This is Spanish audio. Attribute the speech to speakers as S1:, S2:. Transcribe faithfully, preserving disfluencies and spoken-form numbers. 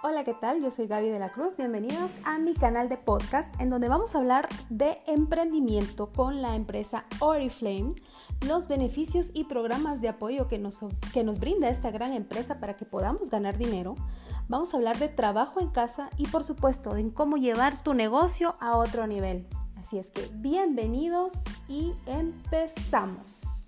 S1: Hola, ¿qué tal? Yo soy Gaby de la Cruz. Bienvenidos a mi canal de podcast en donde vamos a hablar de emprendimiento con la empresa Oriflame, los beneficios y programas de apoyo que nos, que nos brinda esta gran empresa para que podamos ganar dinero. Vamos a hablar de trabajo en casa y por supuesto en cómo llevar tu negocio a otro nivel. Así es que bienvenidos y empezamos.